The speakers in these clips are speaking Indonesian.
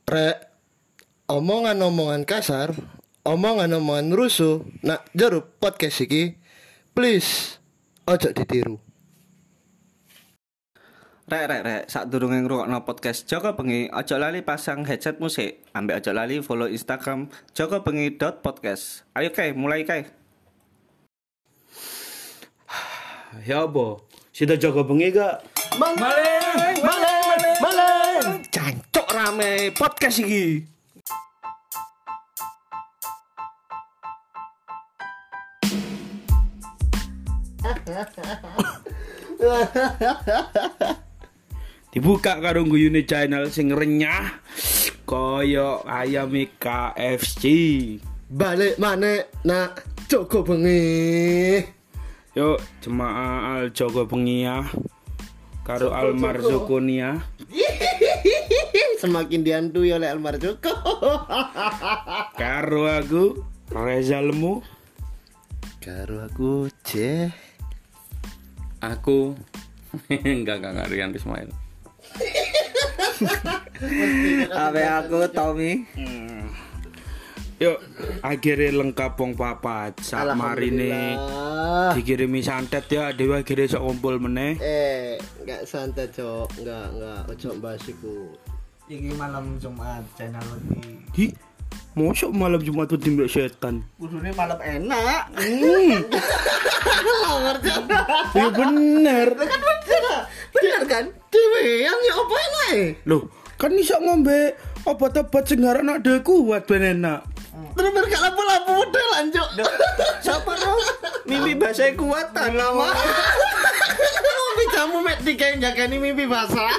Rek, omongan-omongan kasar, omongan-omongan rusuh, nak jero podcast iki, please ojo ditiru. Rek, sadurunge ngrungokno podcast Joko Bengi, aja lali pasang headset musik, ambek aja lali follow Instagram jokobengi.podcast. Ayo kae, mulai kae. Ya apa? Sida Joko Bengi gak? Maleng. Cancok rame podcast iki. Dibuka karo guyune channel sing renyah kaya ayam KFC. Balik maneh nak Joko Bengi. Yuk jemaah Al Joko Bengi ya. Karo Almar Zokonia. Semakin dihantui oleh Almar Joko. Karo aku Reza Lemu. Karo aku Ceh. Aku enggak Rian Ismail. Abe aku Tommy. Yuk akhirnya lengkap wong papat. Sak marine dikirimi santet ya, dewa akhirnya sok kumpul meneh. Enggak santet, Cok. Enggak ojo bahas iku. Iki malam Jumat channel iki. Di mosok malam Jumat tuh timbul setan. Kudune malam enak. Ya bener. Bener kan? Dewe yang opo enak. Loh, kan iso ngombe obat-obat sing anak dhewe kuat ben enak. Terus gak lapo-lapo model lanjut. Siapa dong? Mimpi bahasa kuatan lama. Mimpi jamu mek dikae jakani mimpi basah.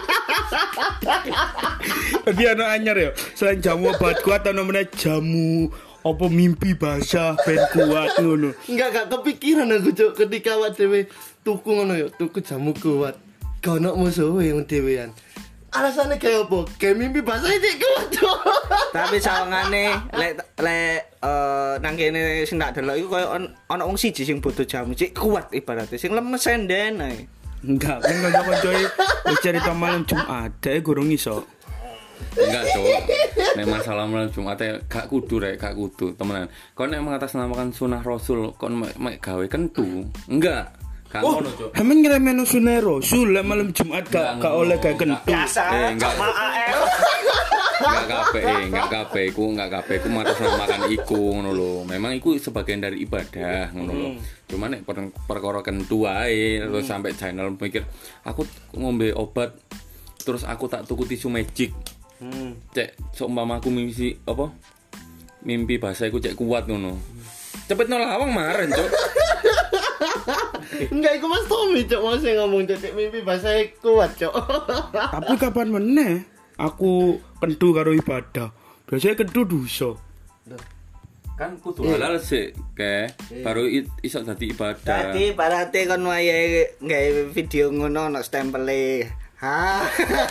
Tadi anak anyar ya, selain jamu obat kuat ana meneh jamu apa mimpi basah ben kuat ngono. Enggak kepikiran aku, Cuk, ketika awak dhewe tuku ngono ya, tuku jamu kuat. Kono musuh yang dhewean. Alasannya kayak apa? Kayak mimpi basah iki kuat, Cuk. Tapi sawangane lek nang kene sing tak delok iku koyo ana wong siji sing butuh jamu cik kuat ibaratnya sing lemes senden ae. Enggak, kan kanca-kancoe wis cerita malam Jumat, dhek gurung iso. Enggak, Cuk. Nek masalah malam Jumat gak kudu gak kudu, temenan. Kon nek mengatasnamakan sunah Rasul, kon mek gawe kentu. Enggak. Gak ngono, Cuk. Emang ngremeno sunah Rasul lek malam Jumat gak oleh gawe kentu. Biasa Enggak. sama AL. Enggak kabeh iku mengatasnamakan iku ngono lho. Memang iku sebagian dari ibadah ngono lho. Cuman nek perkara kentu ae terus sampai channel mikir, aku ngombe obat terus aku tak tuku tisu magic. Cek seumpama aku mimpi bahasa iku cek kuat ngono. Cepet lawang maren, Cuk. Enggak, iku Mas Tommy, Cuk, mau sing ngomong cek mimpi basah kuat, Cuk. Tapi kapan meneh aku kentu karo ibadah. Biasanya kentu dosa. Kan kudu halal sih, baru iso dadi ibadah. Dadi parate kon wayahe gawe video ngono ono stempele. Ha.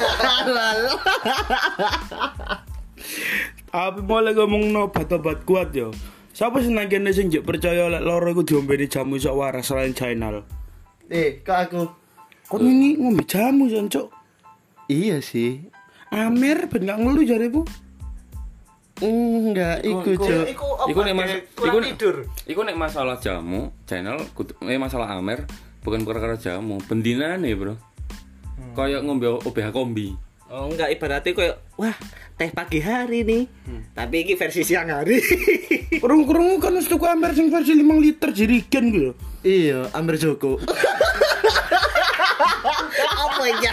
Tapi mulai ngomong obat-obat kuat yo. Siapa sih nang kene sing percaya lek loro iku diombeni jamu iso waras selain channel? Kok aku? Kon ini ngombe jamu jan, Cuk. Iya sih. Amer ben gak ngeluh jareku. Enggak, iku, Cuk. Iku nek masalah jamu, channel masalah Amer bukan perkara jamu, bendinane, Bro. Kayak ngombe OBH kombi. Oh enggak ibaratnya koyo wah teh pagi hari nih. Tapi iki versi siang hari. Kurung-kurung kan wis tuku Amer sing versi 5 liter jerigen ku yo. Iya, Amir Joko. Apa ya?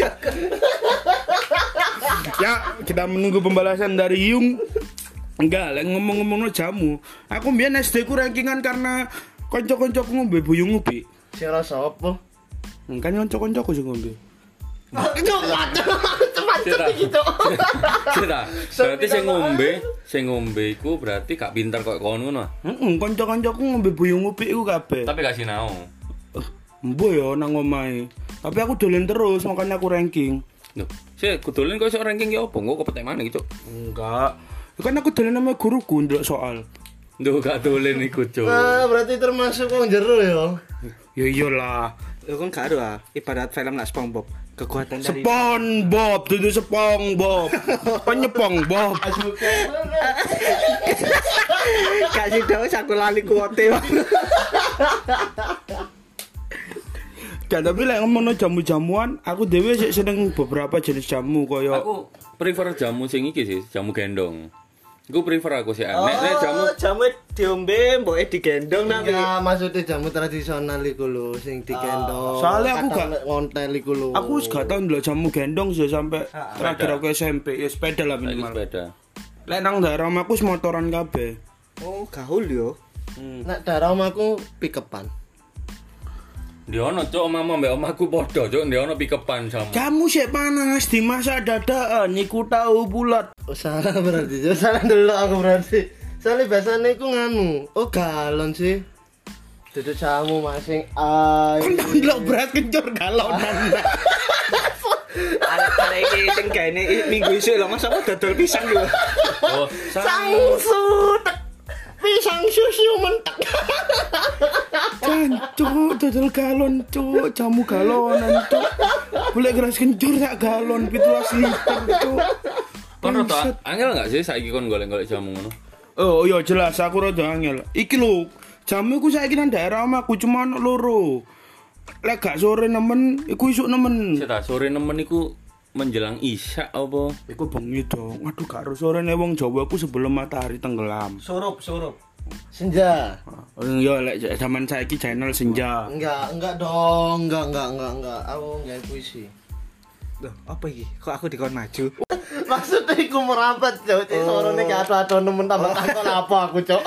Ya, kita menunggu pembalasan dari Yung. Enggak, lek ngomong-ngomong jamu, aku mbiyen SD ku rankingan karena kanca-kancaku ngombe buyung ubi. Sing rasa apa? Kan kanca-kancaku sing ngombe. Cepat gitu. Berarti sing ngombe iku berarti gak pinter kok kono ngono. Heeh, kanca-kancaku ngombe buyung ubi iku kabeh. Tapi gak sinau. Mbo yo nang omahe. Tapi aku dolen terus makanya aku ranking. Loh, sik kudolen kok iso ranking ki opo? Engko kepetek maneh iki, Cuk. Enggak. Kan aku dolen sama guruku ndelok soal. Duh, gak dolen iku, Cuk. Berarti termasuk wong jero ya. Ya iyalah. Lu kan gak ada ibarat film lah SpongeBob. Kekuatan dari SpongeBob, itu SpongeBob. Penyepong Bob. kasih tahu aku lali kuote. Gak, tapi lek ngomongno jamu-jamuan, aku dhewe sik seneng beberapa jenis jamu koyo Aku prefer jamu sing iki sih, jamu gendong. Iku prefer aku sih. Nek jamu diombe mboke digendong nanti. Ya maksudnya jamu tradisional iku lho sing digendong. Soalnya aku Kadang gak- ngontel iku lho. aku wis gak tau ndelok jamu gendong sih sampai terakhir aku SMP, ya sepeda lah saiki minimal. sepeda. Lek nang daerah omahku wis motoran kabeh. Oh, gaul yo. Nek daerah omahku pikepan. Ndi ono cuk omahmu mbek omahku padha cuk, ndi ono pikepan jamu. Jamu sik panas dimasak dadakan, iku tahu bulat. Oh, salah berarti. Salah dulu aku berarti. Soalnya biasanya aku nganu. Oh galon sih. Duduk jamu masing Kon tak ndelok beras kencur galonan. Arek iki sing gaene minggu isuk lho, Mas apa dodol pisang yo. Oh, Sangsu pisang susu mentek. Cancuk dodol galon, cuk, jamu galonan, cuk. Golek beras kencur sak galon 17 liter, cuk. kon rada angel enggak sih saiki kon golek-golek jamu ngono? Oh iya jelas aku rada angel. Iki lho, jamu iku saiki nang daerah omahku cuma ono loro. Lek gak sore nemen, iku isuk nemen. Sita sore nemen iku menjelang isya apa? Iku bengi dong. Waduh gak harus sore nih wong Jawa aku sebelum matahari tenggelam. Surup. Senja. Oh iya lek zaman saiki channel senja. Enggak dong. Enggak. Aku enggak puisi. Loh, apa iki? Kok aku dikon maju? Maksudnya aku merapat, Cok. Cek sorone gak ado nemen tambah takon apa aku, Cok.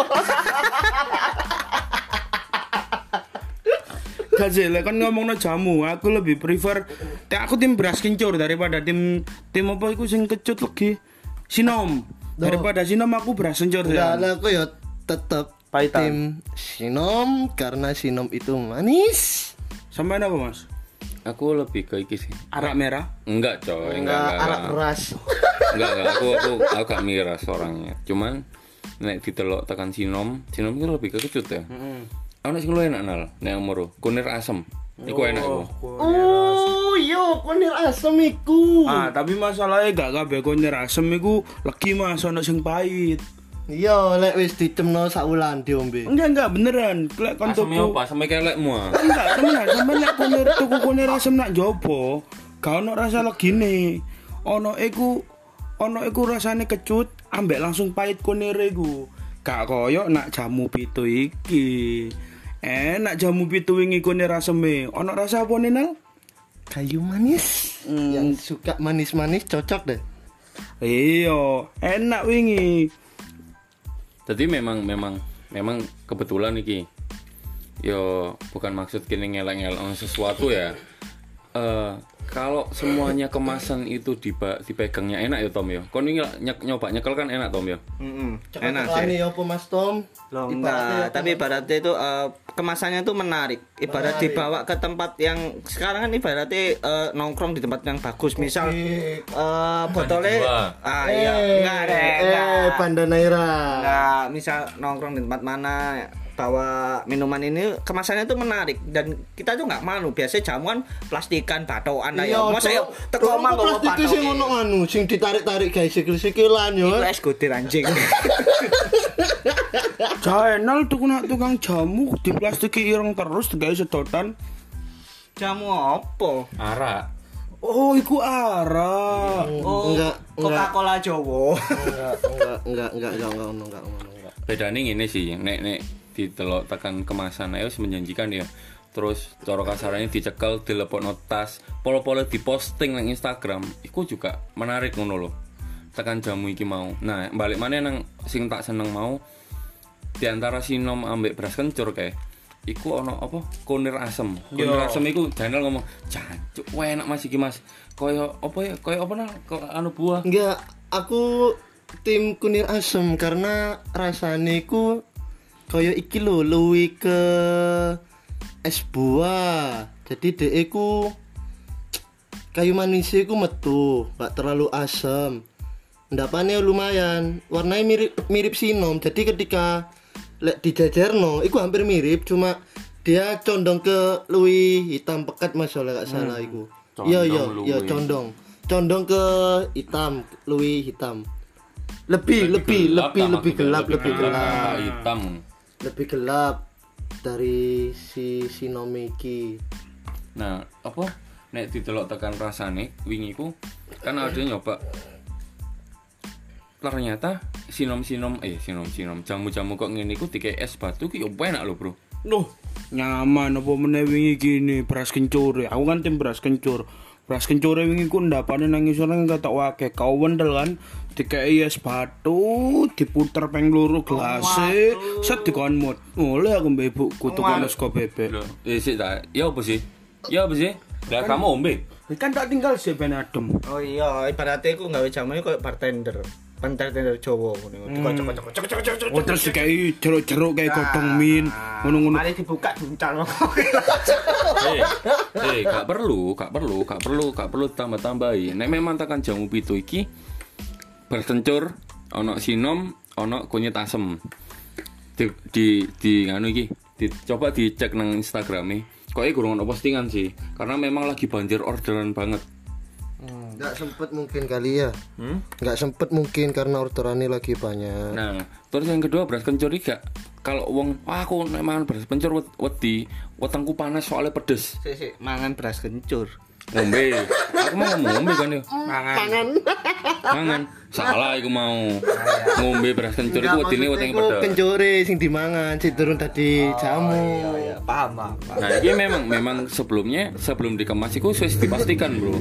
Gak sih, lek kan ngomongno jamu, aku lebih prefer aku tim beras kencur daripada tim apa iku sing kecut lagi. Sinom. Daripada sinom aku beras kencur Enggak, ya. aku ya tetep Pahitan. tim Sinom karena Sinom itu manis. Sampai apa Mas? Aku lebih ke iki sih. Arak merah. Enggak coy, Enggak arak enggak. keras. Enggak, aku gak miras orangnya. Cuman nek ditelok tekan sinom itu lebih ke kecut ya. Ono sing luwih enak nal, nek umur kunir asem. Iku enak iku. Oh, yo kunir asem iku. Ah, tapi masalahnya gak kabeh konir asem iku legi Mas, ono sing pahit. Iya, lek wis ditemno sak wulan diombe. Enggak beneran. Lek kon Asemnya tuku. apa? Aseme kelekmu ah. Enggak, temenan, sampeyan lek konir tuku konir asem nak jopo, gak ono rasa legine. Ono iku rasane kecut, ambek langsung pahit konir iku. Gak koyo nak jamu pitu iki. Enak jamu pitu wingi konir aseme. Ono rasa apa Nal? Kayu manis. Yang suka manis-manis cocok deh. Iya, enak wingi. Jadi memang kebetulan iki. Yo bukan maksud kini ngelak-ngelak sesuatu ya. Kalau semuanya kemasan itu dipegangnya enak ya Tom ya. Kon ini nyoba nyekel kan enak Tom ya. Enak Coklat sih. ya apa Mas Tom? Loh, Ibaratnya enggak, apa? tapi ibaratnya itu kemasannya itu menarik. Ibarat Menarik. dibawa ke tempat yang sekarang kan ibaratnya nongkrong di tempat yang bagus. Misal botolnya iya, enggak. Pandanaira. Enggak, misal nongkrong di tempat mana bawa minuman ini kemasannya itu menarik dan kita tuh nggak malu. Biasanya jamuan plastikan batoan lah ya. Masa yuk teko omah nggawa plastik sing batok. ono anu sing ditarik-tarik guys sikil-sikilan yo. Itu es gotir anjing. Channel tukang jamu diplastiki ireng terus digawe sedotan. Jamu apa? Arak. Oh, iku arah. Oh, Enggak. Coca-Cola Jowo. Enggak ono. Bedane ngene sih, nek ditelok tekan kemasan ayo menjanjikan ya. Terus cara kasarane dicekel, dilepokno tas, polo-polo diposting nang Instagram, iku juga menarik ngono lho. Tekan jamu iki mau. Nah, balik maneh nang sing tak seneng mau di antara sinom ambek beras kencur kae. Iku ono apa? Kunir asem. Kunir asem iku channel ngomong, "Jancuk, enak Mas iki Mas." Koyo apa ya? Koyo apa nang anu buah. Enggak, aku tim kunir asem karena rasane iku kaya iki lho luwih ke es buah. Jadi dhek iku kayu manisnya iku metu, gak terlalu asam. Endapane lumayan, warnanya mirip sinom. Jadi ketika lek dijajarno iku hampir mirip, cuma dia condong ke luwih hitam pekat Mas, oleh gak salah iku. Iya, condong. Condong ke hitam, luwih hitam. Lebih gelap. Hitam. Lebih gelap dari si Xiaomi iki. Nah, apa nek didelok tekan rasane wingi ku kan ada nyoba. Ternyata sinom jamu-jamu kok ngene iku dikek es batu ki yo enak lho, Bro. Loh, nyaman apa meneh wingi gini beras kencur. Aku kan tim beras kencur. Beras kencur wingi ku ndapane nang isor nang ketok wake. Kau wendel kan dikei es batu, diputer peng loro gelase, set dikon mut. Oleh aku mbek ibuku tukang es bebek. Lho, sik ta. Ya apa sih? Lah kamu ombe. Kan tak tinggal sih ben adem. Oh iya, ibaratnya aku gawe jamu koyo bartender. Bartender Jawa ngono. Dikocok-kocok. Oh terus dikei jeruk-jeruk kayak godhong min, ngono-ngono. Mari dibuka duncal. Gak perlu tambah-tambahi. Nek memang tekan jamu pitu iki berkencur ana sinom, ana kunyit asem. Di nganu iki, coba dicek nang Instagrame. Kok gurung ono postingan sih, karena memang lagi banjir orderan banget. Nggak sempet mungkin kali ya. Nggak sempet mungkin karena orderannya lagi banyak. Nah, terus yang kedua beras kencur iki gak kalau wong aku nek mangan beras kencur wedi, wetengku panas soalnya pedes. Sik, mangan beras kencur. Ngombe. Aku mau ngombe kan yo. Mangan. Salah iku mau. Ngombe beras kencur iku wedine wetenge pedes. Kencure sing dimangan, sing turun tadi jamu. Iya, paham. Nah, ini memang sebelum dikemas iku wis dipastikan, Bro.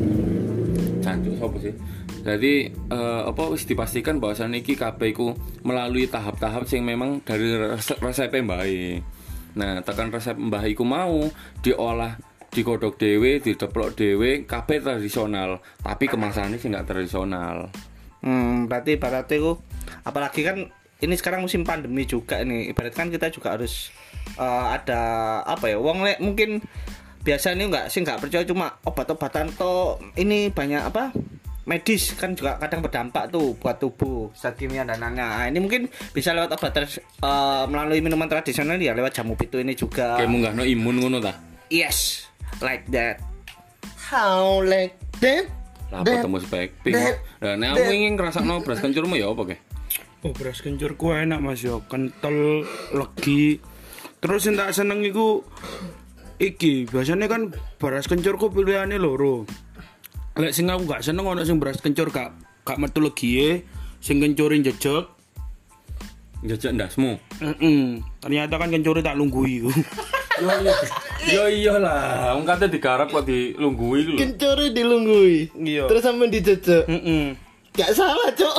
Jancuk sapa sih? Jadi wis dipastikan bahwasannya iki kabeh iku melalui tahap-tahap sing memang dari resep mbahe. Nah, tekan resep mbah iku mau diolah, digodhog dhewe, dideplok dhewe, kabeh tradisional, tapi kemasannya sih enggak tradisional. Berarti ibaratnya apalagi kan ini sekarang musim pandemi juga nih. Ibarat kan kita juga harus ada apa ya? Wong mungkin biasanya nggak percaya cuma obat-obatan toh, ini banyak apa medis kan juga kadang berdampak tuh buat tubuh zat kimia dan lainnya. Nah, ini mungkin bisa lewat obat melalui minuman tradisional ya, lewat jamu pitu ini juga. Kayak munggahno imun ngono ta? Yes, like that. How like that? Lah ketemu spekping. Lah nek aku ingin ngrasakno beras kencurmu ya apa ke? Oh, beras kencur ku enak Mas yo, kental, legi. Terus sing tak seneng iku iki, biasanya kan beras kencur ku pilihane loro. Lek sing aku gak seneng ono sing beras kencur gak metu legie, sing kencure jejeg. Jejeg ndasmu. Ternyata kan kencure tak lungguhi ku. Yo iyalah, wong kate digarap kok dilunggui iku lho. Kencure dilunggui. Iya. Terus sampe dijejeg. Gak salah, Cuk.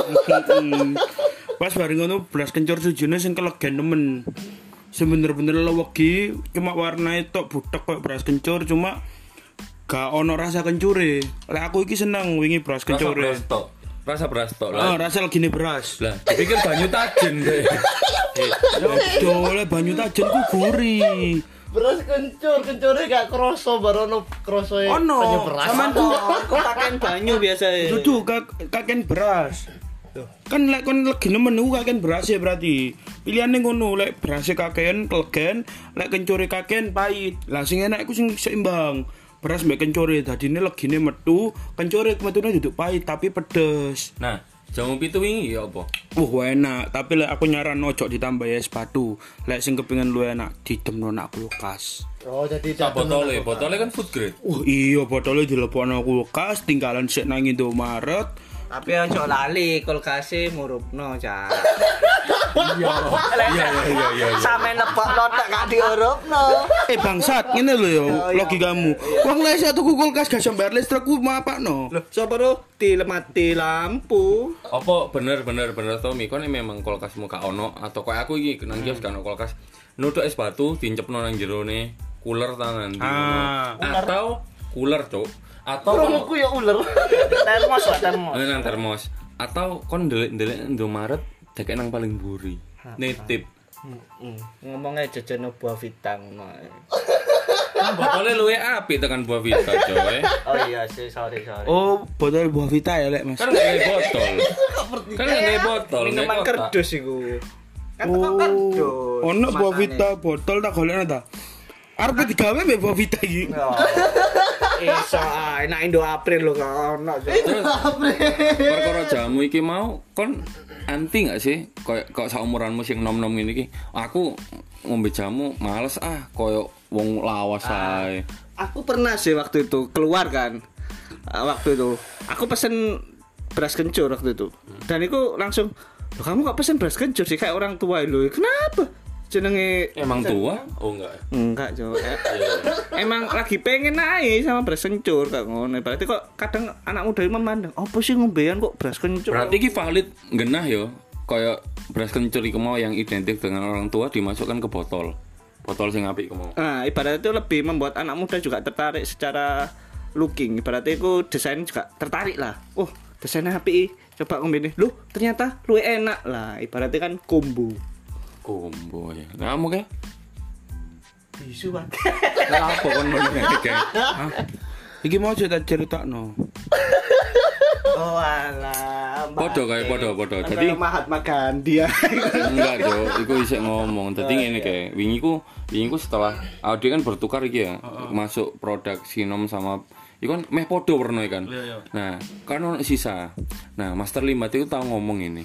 Pas bareng ngono beras kencur sujune sing kelegen nemen. Sebener-bener lewegi, cuma warnanya tok butek kayak beras kencur, cuma gak ono rasa kencure. Lek aku iki seneng wingi beras kencure. Rasa beras tok Oh, lah. rasa legine beras. Lah, dipikir banyu tajen deh. Oleh banyu tajen ku gurih. Beras kencure gak kroso barono krosoe Ono, banyu beras. sampean ku Pakein banyu biasa ya. dudu kaken beras. Kan lek kon legine menu kaken beras ya berarti. Pilihane ngono, lek berase kaken kelegen, lek kencure kaken pahit. Lah sing enak iku sing seimbang. Beras mbek kencure dadine legine metu, kencure metune duduk pahit tapi pedes. Nah, jamu pitu wingi ya apa? Enak, tapi lek aku nyaran ojo ditambah es batu. Lek sing kepengin lu enak didemno nak kulkas. Oh, jadi Sak botole kan food grade. Iya, botolnya dilepokno kulkas, tinggalan sik nang Indomaret. Tapi ojo lali kulkase murupno, Cak. Iya. Sampe nepokno tak gak diurupno. Bangsat, ngene lho ya logikamu. Wong lek sak tuku kulkas gak iso bayar listrik ku mapakno. Loh, sapa ro dilemati lampu? Apa bener Tommy, kon memang kulkasmu gak ono atau kayak aku iki nang kios gak ono kulkas. Nutuk es batu diincepno nang jerone cooler tangan atau cooler, Cuk. Atau Promoku ya ular. Termos lah, termos. nang termos atau kon ndelik Indomaret dekek nang paling mburi. Nitip. Ngomongnya jajan buah vita ngono. Botolnya luwe apik tekan buah vita, coy. Oh iya sih, sorry. Oh, botol buah vita ya lek Mas. Kan nggak kayak botol. Kan nggak kayak botol. Minuman kayak kotak. kerdus iku. Kan teko kerdus. Ono buah vita botol tak golekno ta. Arep digawe mbek buah vita iki. Iso enak Indo April lho ono. Terus perkara jamu iki mau kon anti nggak sih kok saumuranmu sing nom-nom ngene iki aku ngombe jamu males koyo wong lawas ae. Aku pernah sih waktu itu keluar kan. Waktu itu aku pesen beras kencur waktu itu. Dan itu langsung, "Loh, kamu kok pesen beras kencur sih kayak orang tua lho. Kenapa?" Jenenge Emang tua? Oh enggak. Enggak, Jo. Emang lagi pengen naik sama beras kencur kayak ngono. Berarti kok kadang anak muda itu memandang, "Apa sih ngombean kok beras kencur?" Berarti iki valid genah yo. Kayak beras kencur iku mau yang identik dengan orang tua dimasukkan ke botol. Botol sing apik iku mau. Nah, ibaratnya itu lebih membuat anak muda juga tertarik secara looking. Ibaratnya itu desain juga tertarik lah. Oh, desainnya apik. Coba ngombe ini. Loh, ternyata luwih enak lah. Ibaratnya kan combo. Kombo ya. Kamu kayak Bisu, Bang. apa kon ngono kayak? Iki mau cerita-critakno. Oh alah. Podo. Jadi Mahatma Gandhi ya. Enggak, Jo. Iku isih ngomong. Dadi ngene kae. Wingi ku setelah Audi kan bertukar iki ya. Masuk produk Sinom sama iku kan meh podo warna kan. Nah, kan ono sisa. Nah, Master Limbat itu tahu ngomong ini.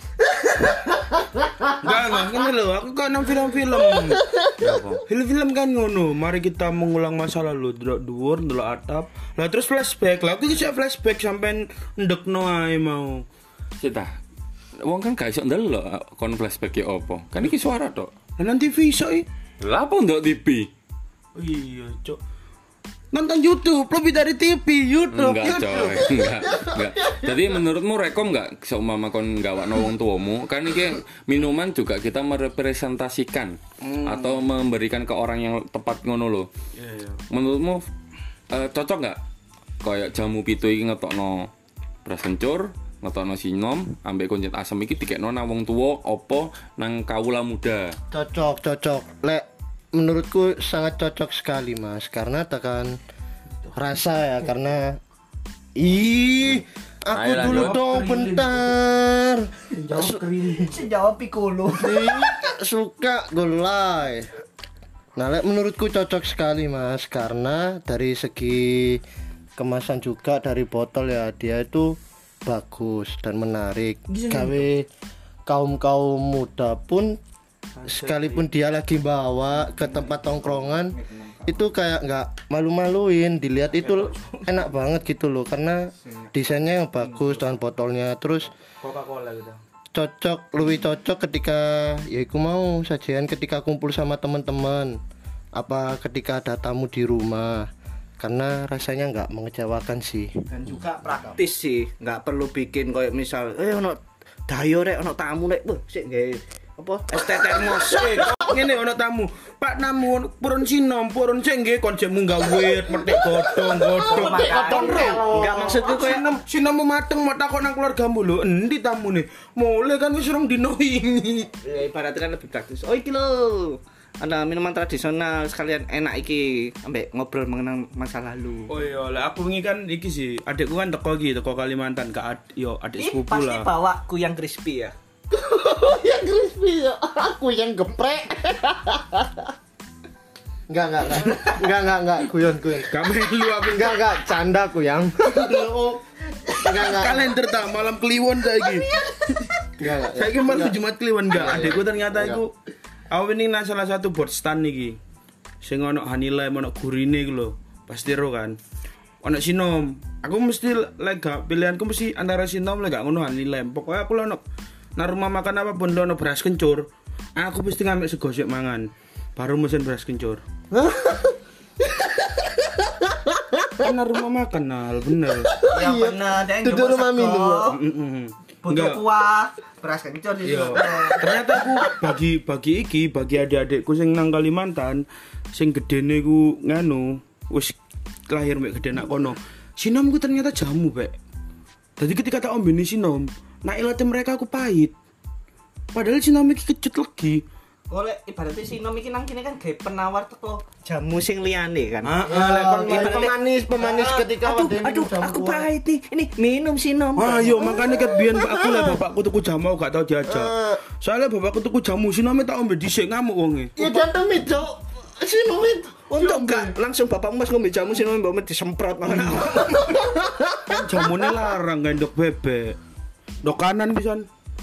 Enggak, ngene lho, aku kan nang film-film. Film-film kan ngono, mari kita mengulang masa lalu, delok dhuwur, delok atap. Lah terus flashback. Lah aku iki flashback sampean ndekno ae mau. Cita. Wong kan gak iso ndelok kon flashback ya opo. Kan iki suara tok. Lah nang TV iso iki. Lah apa ndok TV? Oh iya, Cok. Nonton YouTube, lebih dari TV, YouTube. Enggak, coy. Enggak. Jadi menurutmu rekom enggak seumpama kon gawakno wong tuamu? Kan iki minuman juga kita merepresentasikan atau memberikan ke orang yang tepat ngono lho. Iya. Menurutmu cocok enggak kayak jamu pitu iki ngetokno beras kencur, ngetokno Sinom, ambek kunyit asem iki dikekno nang wong tuwa apa nang kawula muda? Cocok. Lek menurutku sangat cocok sekali, Mas, karena tekan rasa ya, karena aku Ayo, dulu lanjut. dong bentar. Sejawab Piccolo. Suka gulai. Nah, lek menurutku cocok sekali, Mas, karena dari segi kemasan juga dari botol ya, dia itu bagus dan menarik. Gawe kaum muda pun sekalipun dia lagi bawa ke tempat tongkrongan itu kayak nggak malu-maluin, dilihat itu enak banget gitu loh, karena desainnya yang bagus dan botolnya. Terus Coca-Cola gitu. lebih cocok ketika ya aku mau sajian ketika kumpul sama teman-teman, apa ketika ada tamu di rumah, karena rasanya nggak mengecewakan sih. Dan juga praktis sih, nggak perlu bikin kayak misal ono dayo rek ono tamu rek, sik nggih apa es teh termos. Ngene ono tamu. Pak namu purun Sinom, purun sing nggih kon jek munggah wit, metik godhong. Enggak maksudku kayak Sinom mateng mau takon nang keluargamu lho, endi tamune? Mulai kan wis rong dino wingi. ya, ibaratnya kan lebih praktis. Oh iki lho, ada minuman tradisional sekalian enak iki, ambek ngobrol mengenang masa lalu. Oh iya, lah aku wingi kan iki sih, adikku kan teko Kalimantan adik sepupu Pasti lah. bawa kuyang crispy ya. Yang crispy ya, aku yang geprek. Enggak, guyon. Kami lu aku Enggak, canda aku yang. Enggak. kalender tak malam kliwon saiki. Enggak. Saiki malam Jumat kliwon enggak. Adikku ternyata iku aku ini nang salah satu bot stand iki. Sing ono Hanilem, ono gurine iku lho. Pasti ro kan. Ono Sinom. Aku mesti lek gak pilihanku mesti antara Sinom lek gak ngono Hanilem. Pokoknya aku lho ono nang rumah makan apapun lho ono beras kencur. Aku mesti ngambil segosek mangan. Baru mesin beras kencur. Kan rumah makan Nal, bener. Ya bener, dia Duduk rumah minum loh. butuh kuah, beras kencur di Iya. situ. Ternyata aku bagi adik-adikku sing nang Kalimantan sing gedene ku nganu wis lahir mek gede nak kono. Sinom ku ternyata jamu, Pak. Jadi ketika tak ombeni Sinom, nak ilate mereka aku pahit. Padahal Sinom iki kecut lagi. Oleh ibaratnya Sinom iki nang kene kan gawe penawar teko jamu sing liyane kan. Pemanis ketika Aduh, aku pahit nih. Ini minum Sinom. Ayo makanya ket biyen aku lah bapakku tuku jamu aku gak tau diajak. Soalnya bapakku tuku jamu Sinom tak ombe dhisik ngamuk wonge. Ya dan demi cok. Sinomit Untuk enggak langsung Bapak Mas ngombe jamu Sinomit mbok disemprot ngono. Kan jamune larang gendok bebek. Dok kanan pisan.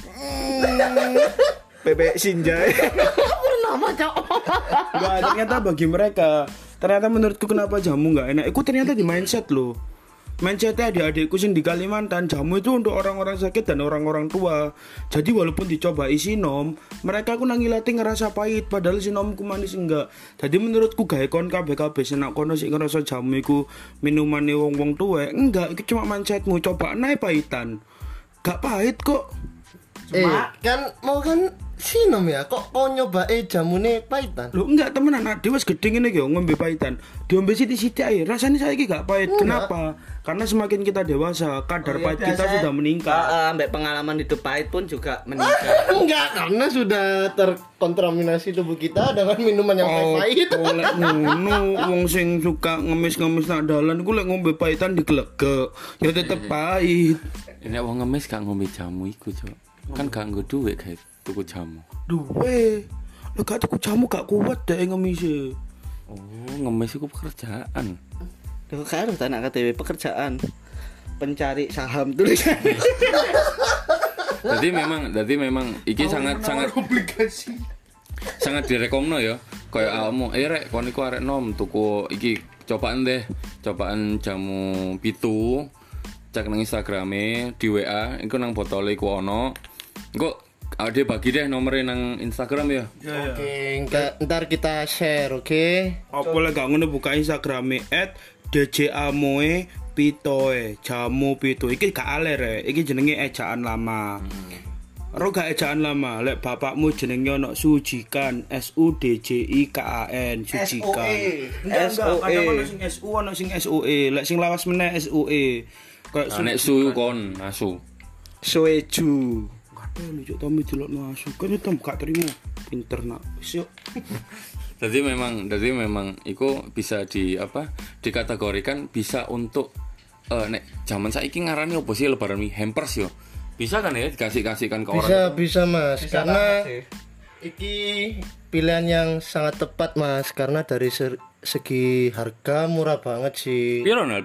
Bebek Sinjai. nama cok. Enggak, ternyata bagi mereka, ternyata menurutku kenapa jamu enggak enak. Itu ternyata di mindset loh. Mindsetnya adik-adikku sing di Kalimantan, jamu itu untuk orang-orang sakit dan orang-orang tua. Jadi walaupun dicoba sinom, mereka ku nangilati ngerasa pahit padahal sinomku manis enggak. Jadi menurutku gawe kon kabeh-kabeh senak kono sik ngerasa jamu iku minumane wong-wong tuwek, enggak, itu cuma mindsetmu. Coba naik pahitan. Gak pahit kok. Kan mau kan sinom ya, kok kau nyoba jamune pahitan? Loh enggak temenan, adik wis gede ngene iki ngombe pahitan. Diombe sithik-sithik ae, rasane saiki gak pahit. Kenapa? Karena semakin kita dewasa, kadar pahit kita sudah meningkat. Ambek pengalaman hidup pahit pun juga meningkat. Enggak, karena sudah terkontaminasi tubuh kita dengan minuman yang pahit. Lek ngono, wong sing suka ngemis-ngemis nak dalan iku lek ngombe pahitan diglegek, ya tetep pahit. Nek wong ngemis gak ngombe jamu iku, Cok. Kan gak nggo duit guys, tuku jamu. Duwe. Lek gak tuku jamu gak kuat dek ngemis. Oh, ngemis iku pekerjaan. Kok harus anak KTW pekerjaan pencari saham tulisan. Jadi memang iki sangat obligasi. sangat direkomno ya. Kayak awakmu, rek kon iku arek nom tuku iki cobaan jamu pitu. Cek nang Instagrame di WA, iku nang botole iku ono. Engko ade bagi deh nomornya nang Instagram ya. Oke, ntar kita share, oke? Apa lek gak ngono buka Instagrame @djamoe_pitoe, jamu pitu. Iki gak aler iki jenenge ejaan lama. Ro gak ejaan lama, lek bapakmu jenenge ono Sujikan, SUDJIKAN, Sujikan. Enggak, kadang ono sing SU, ono sing SUE, lek sing lawas meneh SUE. Kayak Nek su kon asu. Soeju. Kadang lucu Tommy dilokno asu, kan Tom gak terima. Pinter nak. Wis yo. Jadi memang iku bisa dikategorikan bisa untuk nek zaman saiki ngarani opo sih lebaran hampers yo. Bisa kan ya dikasihkan ke orang? Bisa Mas, karena iki pilihan yang sangat tepat Mas, karena dari segi harga murah banget sih. Pironal.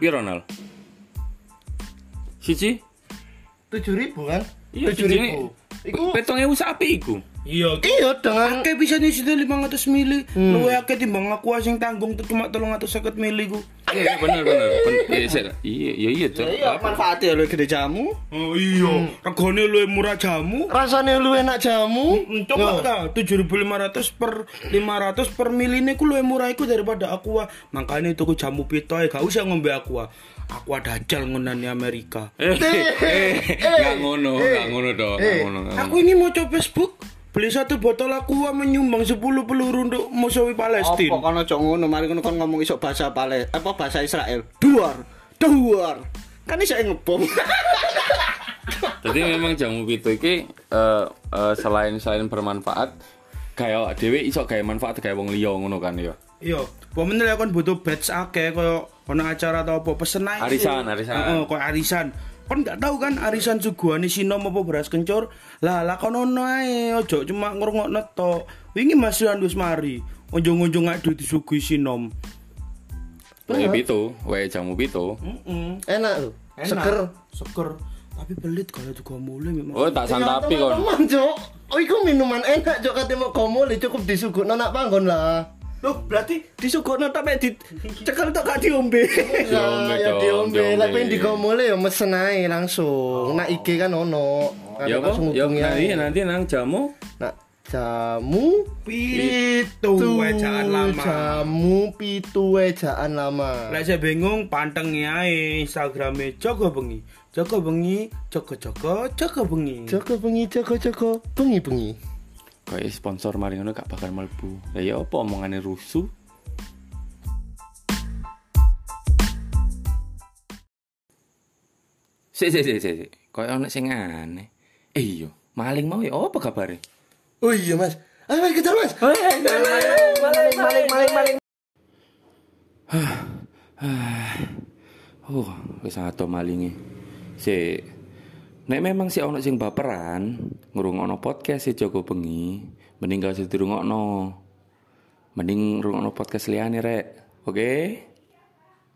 Siji? 7.000 kan? Iya, 7.000. Iku 7.000 sapi iku. Iya, Iya dengan akeh bisa nih sudah 500 mili. Luwe akeh timbang aku sing tanggung tuh cuma 350 mili ku. Iya bener. Iya, Cok. Iya, manfaatnya lho gede jamu. Oh iya, regane luwe murah jamu. rasanya lu enak jamu. Coba ta 7.500 per 500 per miline ku luwe murah iku daripada Aqua. Makanya tuku jamu pitoe gak usah ngombe Aqua. Aqua dajal ngonane Amerika. Gak ngono dong. Aku ini mau coba Facebook. Beli 1 botol Aqua menyumbang 10 peluru untuk musuh Apa Palestina. kono cok ngono, mari kono kon ngomong iso bahasa bahasa Israel. Duar. Kan iso ngebom. Jadi memang jamu pitu iki selain bermanfaat kayak dhewe iso gawe manfaat gawe wong liya ngono kan ya. Iya, pemen lek kon butuh badge akeh koyo ono acara atau apa pesen ae. Arisan. Heeh, koyo arisan. Kon gak tahu kan arisan suguhane sinom apa beras kencur. Lah kono ae, ojo cuma ngrungokno tok. Wingi Mas Rian wis mari. Unjung-unjung adu disuguhi sinom. Wae pitu, wae jamu pitu. Enak lu. Seger. Tapi pelit kalau juga mulai memang. Oh, tak santapi kon. Teman-teman, Cok. Oh, iku minuman enak, Cok. Kate mau komo cukup disugukno nak panggon lah. Loh, berarti disugukno tapi dicekel tok gak diombe. Diombe, Ya Cok, diombe. diombe. Lah pengen digomole ya mesen ae langsung. Nak IG kan ono. Ya apa? Langsung Ya hubungi ae. nanti nang jamu Nak jamu Pitu ejaan lama. Jamu pitu ejaan lama. Lek saya bingung pantengi ae Instagrame Joko Bengi. Joko Bengi, Joko Bengi. Joko bengi. kayak sponsor mari ngono gak bakal mlebu. Lah ya apa omongane rusuh? Sik. Kayak ana sing aneh. Iya, maling mau ya apa kabare? Oh iya Mas. Ayo Mas kejar Mas. Maling. Wis ato malinge. Sik. Nek memang si ono sing baperan ngrungokno podcast si Joko Bengi, mending gak usah dirungokno. mending rungokno podcast liyane rek. Oke?